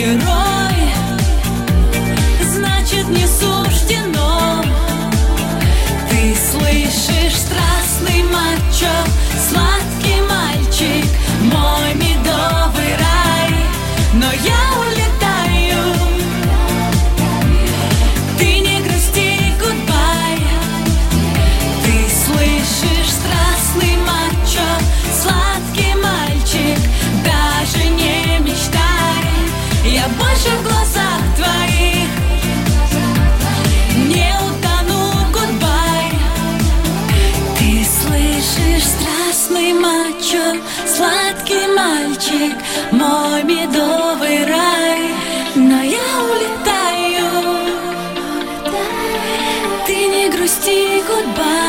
герой, значит не суждено. Ты слышишь страстный мачо, сладкий мальчик, мой медовый рай. Но я улетаю, ты не грусти, гудбай. Ты слышишь страстный мачо, сладкий мальчик, даже не мечтай. Я больше в глазах твоих не утону, гудбай. Ты слышишь страстный мачо, сладкий мальчик, мой медовый рай. Но я улетаю, ты не грусти, гудбай.